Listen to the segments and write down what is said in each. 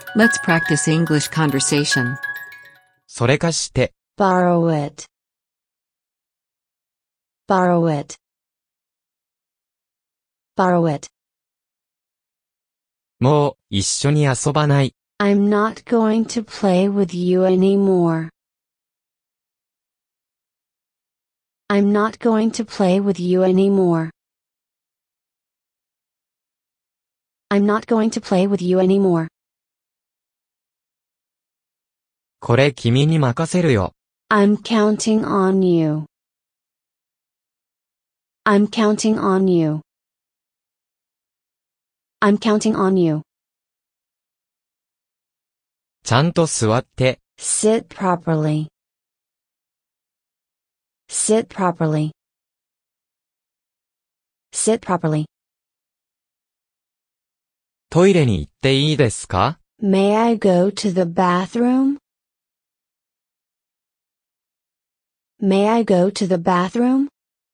Let's practice English conversation. それ貸して、 Borrow it. Borrow it. Borrow it. もう一緒に遊ばない。 I'm not going to play with you anymore. I'm not going to play with you anymore. I'm not going to play with you anymore. これ君に任せるよ。 I'm counting on you. I'm counting on you. I'm counting on you. ちゃんと座って、 Sit properly. Sit properly. Sit properly. トイレに行っていいですか？ May I go to the bathroom? May I go to the bathroom?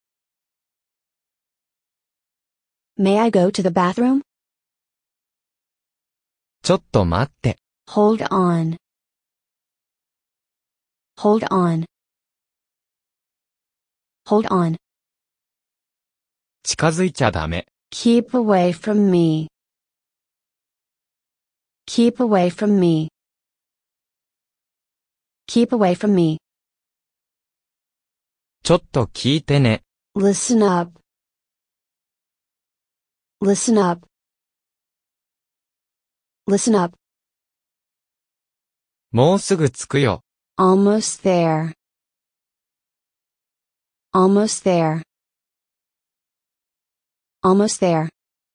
May I go to the bathroom? ちょっと待って。 Hold on. Hold on. Hold on. 近づいちゃダメ。 Keep away from me. Keep away from me. Keep away from me. ちょっと聞いてね。 Listen up. Listen up. Listen up. もうすぐ着くよ。 Almost there. Almost there. Almost there.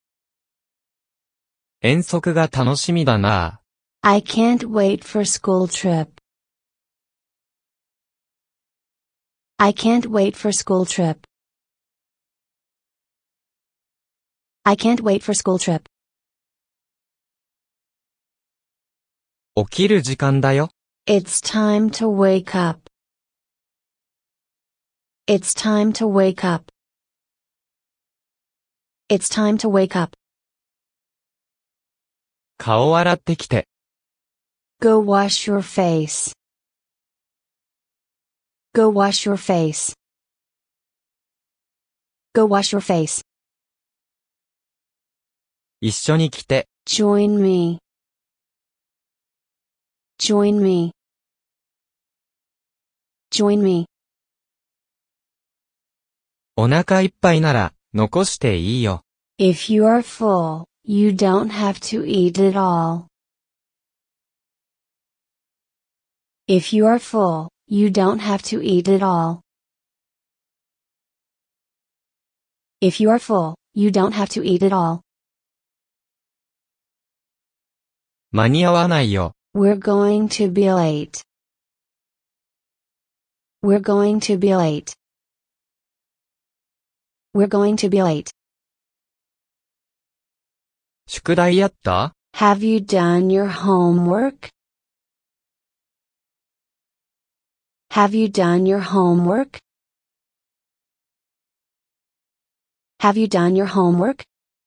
遠足が楽しみだな。 I can't wait for school trip. I can't wait for school trip. I can't wait for school trip. 起きる時間だよ。 It's time to wake up. It's time to wake up. It's time to wake up. 顔洗ってきて。 Go wash your face. Go wash your face. Go wash your face. 一緒に来て。 Join me. Join me. Join me. お腹いっぱいなら、残していいよ。 If you are full, you don't have to eat it all. If you are full, you don't have to eat it all. If you are full, you don't have to eat it all. 間に合わないよ。 We're going to be late. We're going to be late. We're going to be late. 宿題やった？ Have you done your homework? Have you done your homework? Have you done your homework?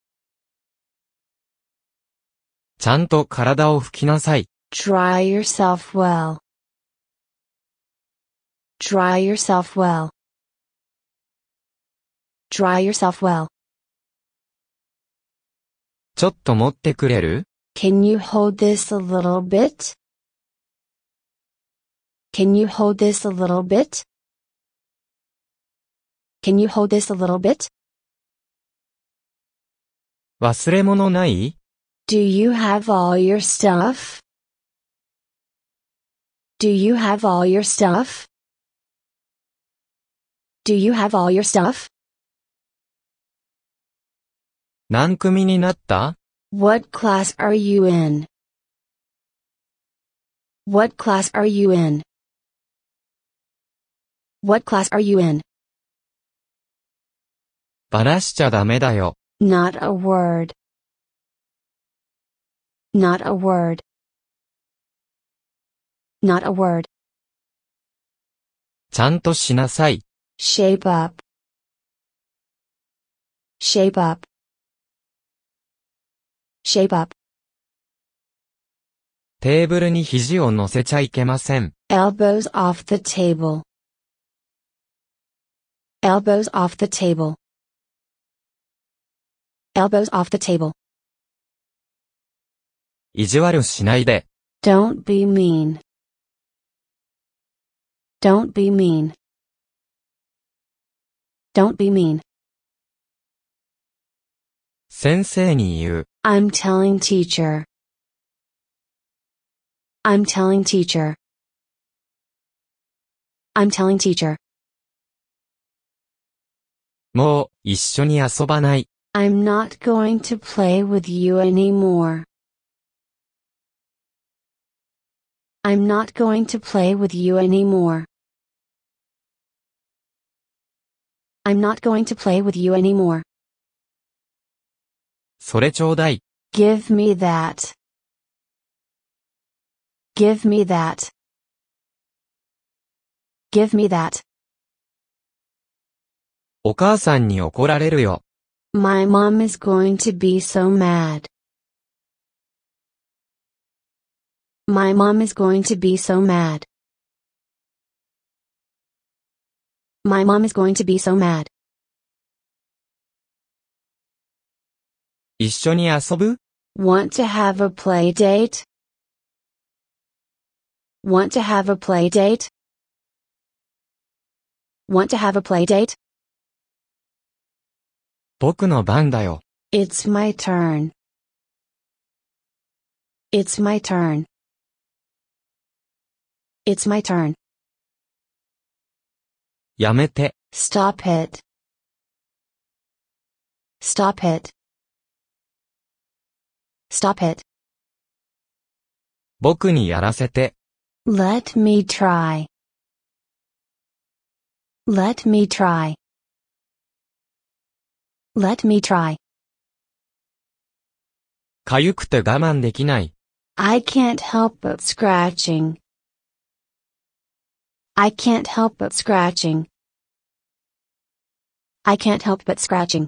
ちゃんと体を拭きなさい。 Dry yourself well. Dry yourself well. Dry yourself well. ちょっと持ってくれる？ Can you hold this a little bit? Can you hold this a little bit? Can you hold this a little bit? 忘れ物ない？ Do you have all your stuff? Do you have all your stuff? Do you have all your stuff? 何組になった？ What class are you in? What class are you in? What class are you in? バラしちゃダメだよ。 Not a word. Not a word. Not a word. ちゃんとしなさい。 Shape up. Shape up. Shape up. テーブルに肘を乗せちゃいけません。 Elbows off the table. Elbows off the table. Elbows off the table. 意地悪しないで。 Don't be mean. Don't be mean. Don't be mean. 先生に言う。 I'm telling teacher. I'm telling teacher. I'm telling teacher. もう、一緒に遊ばない。 I'm not going to play with you anymore. I'm not going to play with you anymore. I'm not going to play with you anymore. それちょうだい。 Give me that. Give me that. Give me that. お母さんに怒られるよ。 My mom is going to be so mad. My mom is going to be so mad. My mom is going to be so mad. 一緒に遊ぶ？ Want to have a play date? Want to have a play date? Want to have a play date? 僕の番だよ。 It's my turn. It's my turn. It's my turn. やめて。 Stop it. Stop it. Stop it. 僕にやらせて。 Let me try. Let me try. Let me try. かゆくて我慢できない。 I can't help but scratching. I can't help but scratching. I can't help but scratching.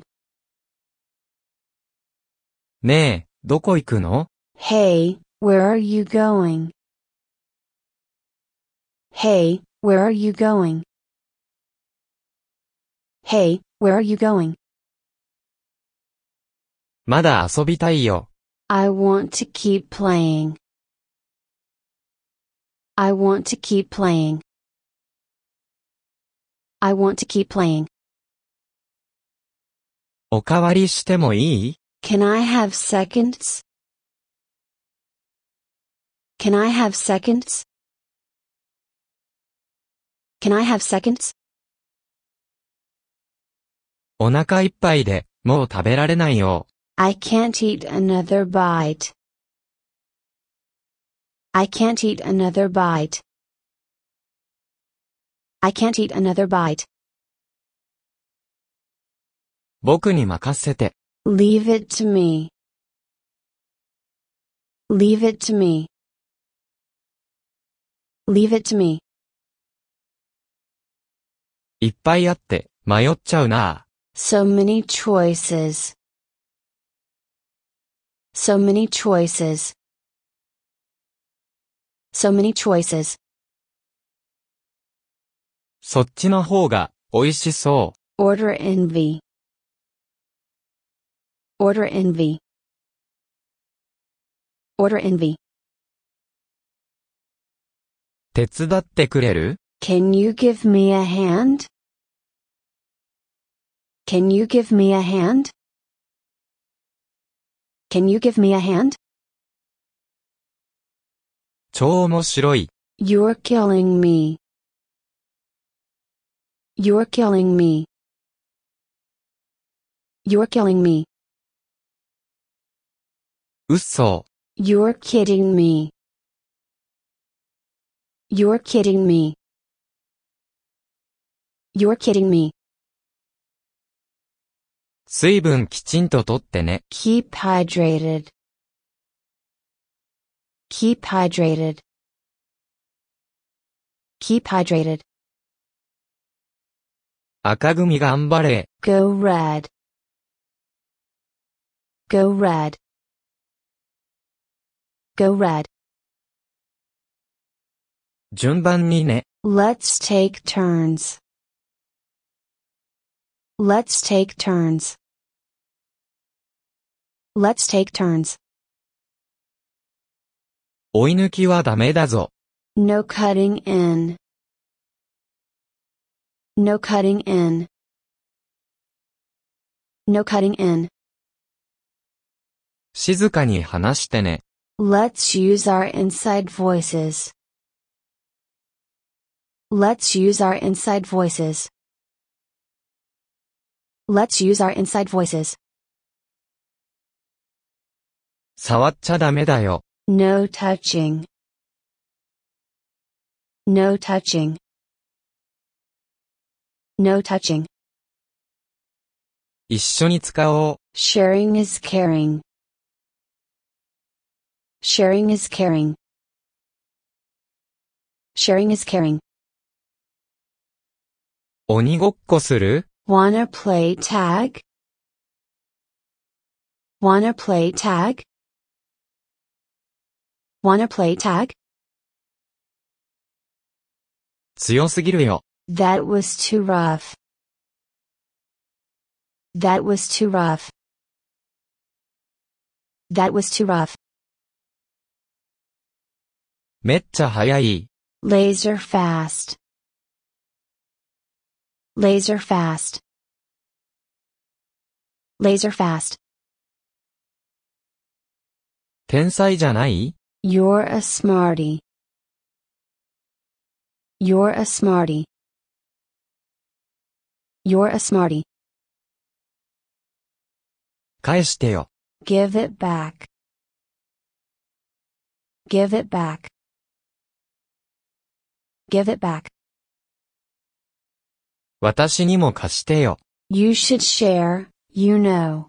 ねえ、どこ行くの？ Hey, where are you going? Hey, where are you going? Hey, where are you going? まだ遊びたいよ。 I want to keep playing. I want to keep playing. I want to keep playing. おかわりしてもいい？ Can I have seconds? Can I have seconds? Can I have seconds? お腹いっぱいで、もう食べられないよ。 I can't eat another bite. I can't eat another bite. I can't eat another bite. 僕に任せて。 Leave it to me. Leave it to me. Leave it to me. いっぱいあって、迷っちゃうな。 So many choices. So many choices. So many choices. そっちの方が、美味しそう。 Order envy. Order envy. Order envy. 手伝ってくれる？ Can you give me a hand? Can you give me a hand? Can you give me a hand? 超面白い。 You're killing me. You're killing me. You're killing me. 嘘。 You're kidding me. You're kidding me. You're kidding me. 水分きちんととってね。 Keep hydrated. Keep hydrated. Keep hydrated. 赤組頑張れ。 Go red. Go red. Go red. 順番にね。 Let's take turns. Let's take turns. Let's take turns. 追い抜きはダメだぞ。 No cutting in. No cutting in. No cutting in. 静かに話してね。 Let's use our inside voices. Let's use our inside voices. Let's use our inside voices. 触っちゃダメだよ。 No touching. No touching. No touching. 一緒に使おう。 Sharing is caring. Sharing is caring. Sharing is caring. 鬼ごっこする？ Wanna play tag? Wanna play tag? Wanna play tag? 強すぎるよ。 That was too rough. That was too rough. That was too rough. めっちゃ速い。 Laser fast. Laser fast. Laser fast. 天才じゃない？ You're a smarty. You're a smarty. You're a smarty. 返してよ。 Give it back. Give it back. Give it back. 私にも貸してよ。 You should share, you know.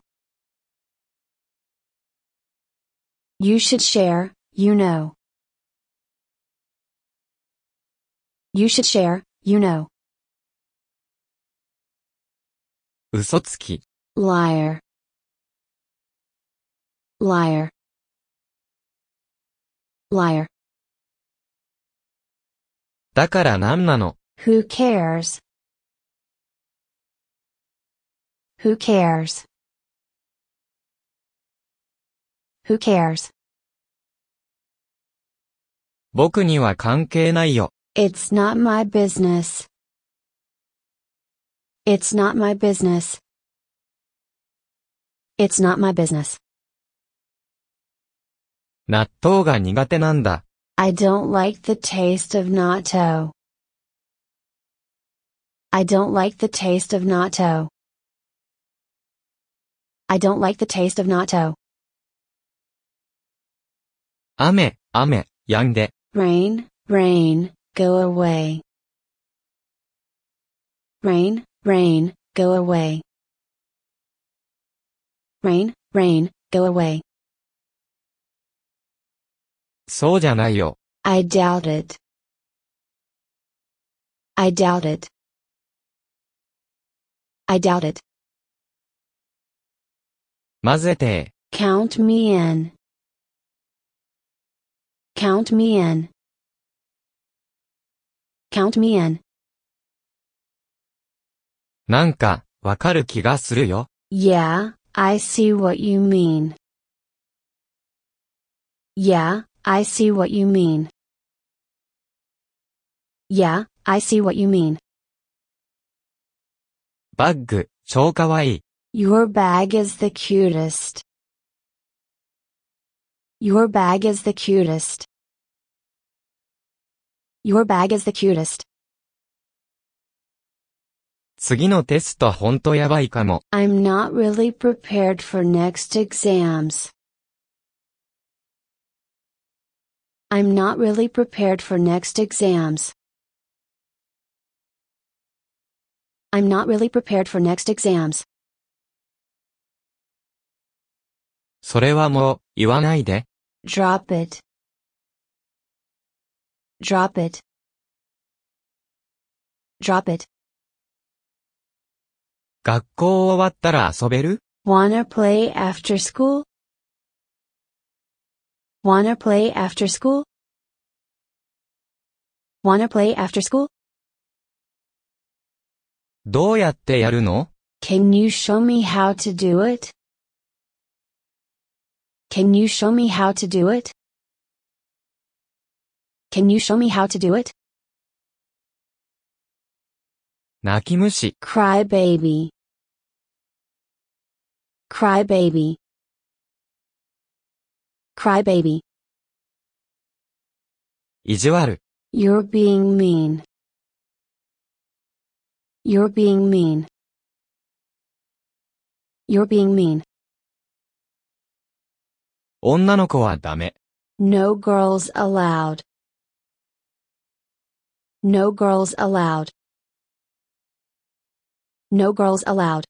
You should share, you know. You should share, you know. 嘘つき。 Liar. Liar. Liar. だからなんなの？ Who cares? Who cares? Who cares? 僕には関係ないよ。 It's not my business. It's not my business. It's not my business. 納豆が苦手なんだ。 I don't like the taste of natto. I don't like the taste of natto. I don't like the taste of natto. 雨、雨、止んで。 Rain, rain, go away. Rain, rain, go away. Rain, rain, go away. そうじゃないよ。 I doubt it. I doubt it. I doubt it. 混ぜて。 Count me in. Count me in. Count me in. なんか、わかる気がするよ。 Yeah, I see what you mean. Yeah, I see what you mean. Yeah, I see what you mean. バッグ、超かわいい。 Your bag is the cutest. Your bag is the cutest. Your bag is the cutest. 次のテストほんとやばいかも。 I'm not really prepared for next exams. I'm not really prepared for next exams. I'm not really prepared for next exams. それはもう、言わないで。 Drop it. Drop it. Drop it. 学校終わったら遊べる？ Wanna play after school? Wanna play after school? Wanna play after school? どうやってやるの？ Can you show me how to do it? Can you show me how to do it? Can you show me how to do it? 泣き虫。 Cry baby. Cry baby. Cry baby. 意地悪。 You're being mean. You're being mean. You're being mean. 女の子はダメ。 No girls allowed. No girls allowed. No girls allowed.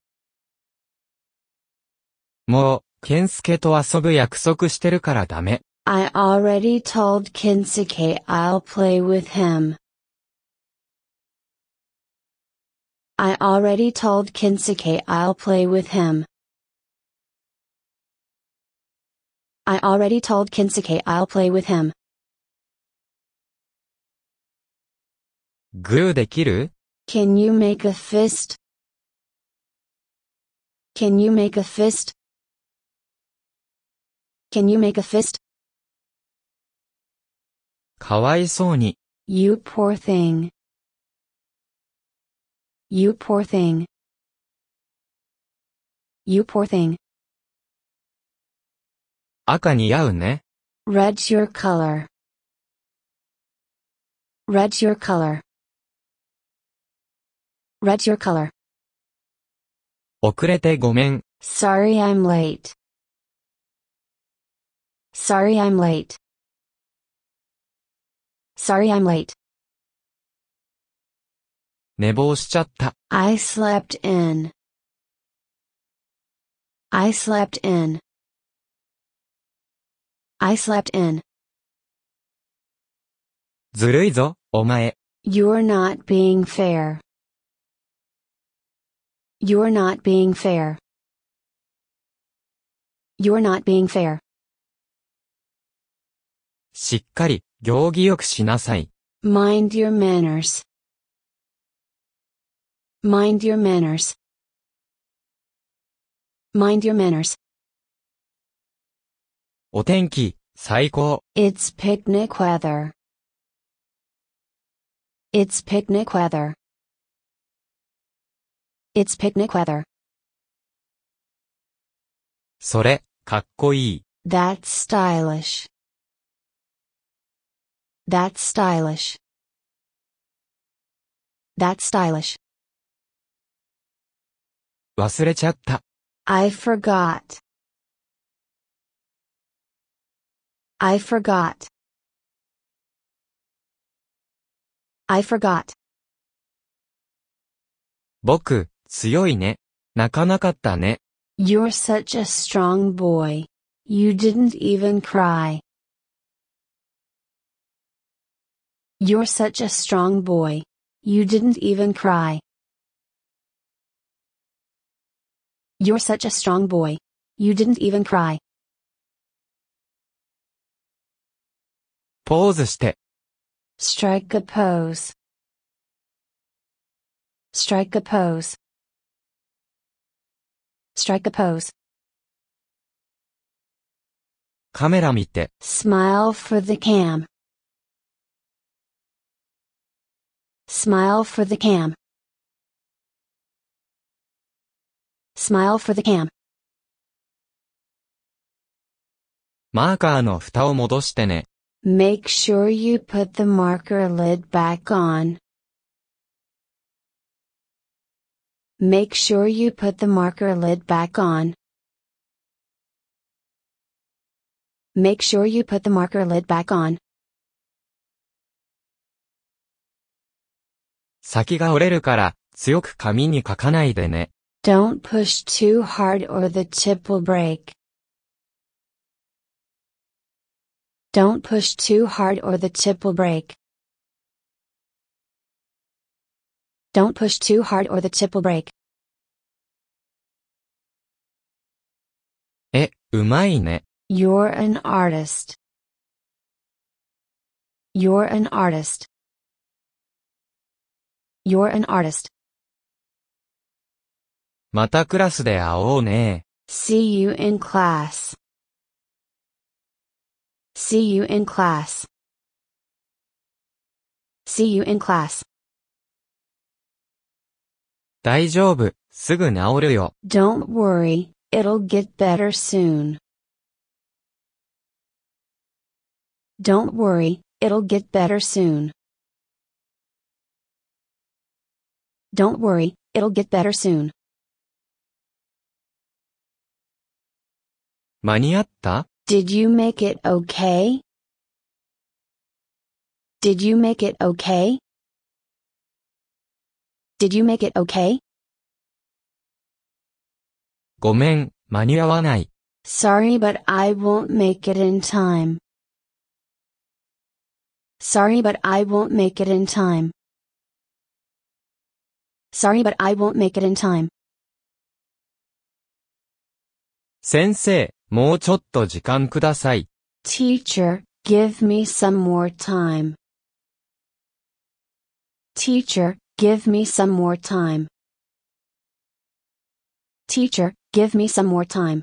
もう、ケンスケと遊ぶ約束してるからダメ。 I already told Kensuke I'll play with him. I already told Kensuke I'll play with him. I already told Kensuke I'll play with him. グーできる？ Can you make a fist? Can you make a fist? Can you make a fist? かわいそうに。 You poor thing. You poor thing. You poor thing. 赤似合うね。 Red's your color. Red's your color. Red's your color. 遅れてごめん。 Sorry I'm late. Sorry I'm late. Sorry I'm late. 寝坊しちゃった。 I slept in. I slept in. I slept in. ずるいぞ、お前。 You're not being fair. You're not being fair. You're not being fair. しっかり、行儀よくしなさい。 Mind your manners. Mind your manners. Mind your manners. お天気、最高。 It's picnic weather. It's picnic weather. It's picnic weather. それ、かっこいい。 That's stylish. That's stylish. That's stylish. 忘れちゃった。 I forgot. I forgot. I forgot. 僕、強いね。泣かなかったね。 You're such a strong boy. You didn't even cry. You're such a strong boy. You didn't even cry. You're such a strong boy. You didn't even cry. ポーズして。 Strike a pose. Strike a pose. Strike a pose. カメラ見て。 Smile for the cam. Smile for the cam. Smile for the cam. マーカーの蓋を戻してね。 Make sure you put the marker lid back on. Make sure you put the marker lid back on. Make sure you put the marker lid back on. 先が折れるから、強く紙に書かないでね。 Don't push too hard or the tip will break. Don't push too hard or the tip will break. Don't push too hard or the tip will break. うまいね。 You're an artist. You're an artist. You're an artist. またクラスで会おうね。 See you in class. See you in class. See you in class. 大丈夫、すぐ治るよ。 Don't worry, it'll get better soon. Don't worry, it'll get better soon. Don't worry, it'll get better soon. 間に合った？ Did you make it okay? Did you make it okay? Did you make it okay? ごめん、間に合わない。 Sorry, but I won't make it in time. Sorry, but I won't make it in time. Sorry, but I won't make it in time. 先生、もうちょっと時間ください。 Teacher, give me some more time. Teacher, give me some more time. Teacher, give me some more time.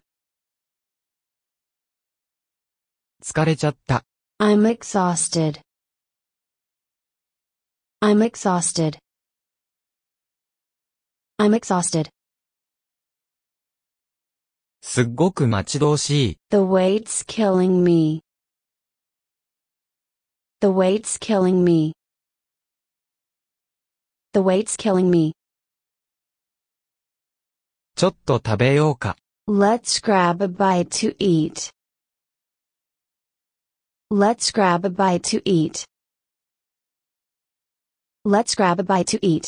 疲れちゃった。 I'm exhausted. I'm exhausted. I'm exhausted. すっごく待ち遠しい。 The weight's killing me. The weight's killing me. The weight's killing me. ちょっと食べようか。 Let's grab a bite to eat. Let's grab a bite to eat. Let's grab a bite to eat.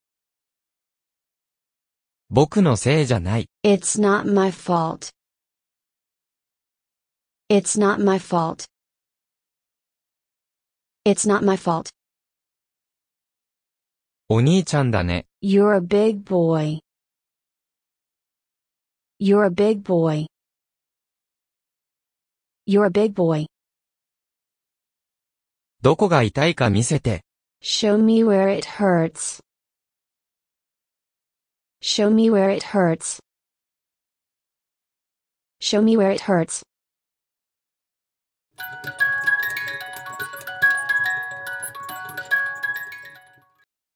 僕のせいじゃない。 It's not my fault. It's not my fault. It's not my fault. お兄ちゃんだね。 You're a big boy. You're a big boy. You're a big boy. どこが痛いか見せて。 Show me where it hurts. Show me where it hurts. Show me where it hurts.